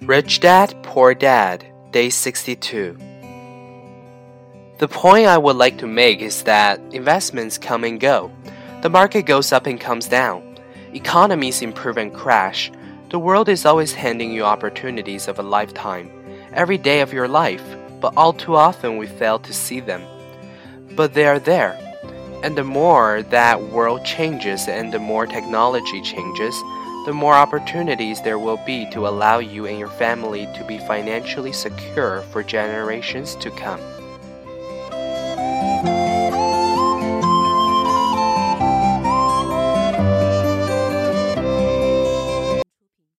Rich Dad, Poor Dad, Day 62. The point I would like to make is that investments come and go. The market goes up and comes down. Economies improve and crash. The world is always handing you opportunities of a lifetime, every day of your life, but all too often we fail to see them. But they are there. And the more that world changes and the more technology changes, the more opportunities there will be to allow you and your family to be financially secure for generations to come.